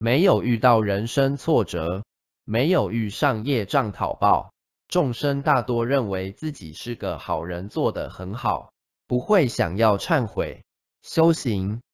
没有遇到人生挫折，没有遇上业障讨报，众生大多认为自己是个好人，做得很好，不会想要忏悔。修行